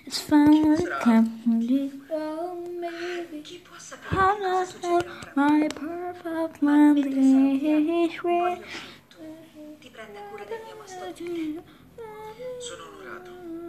It's finally Sarà come. Oh, maybe. chi può sapere How che cosa I succederà tra my poco. perfect Ma man mentre sarò via, is voglio che tu ti prenda cura del mio mastodonte. Sono onorato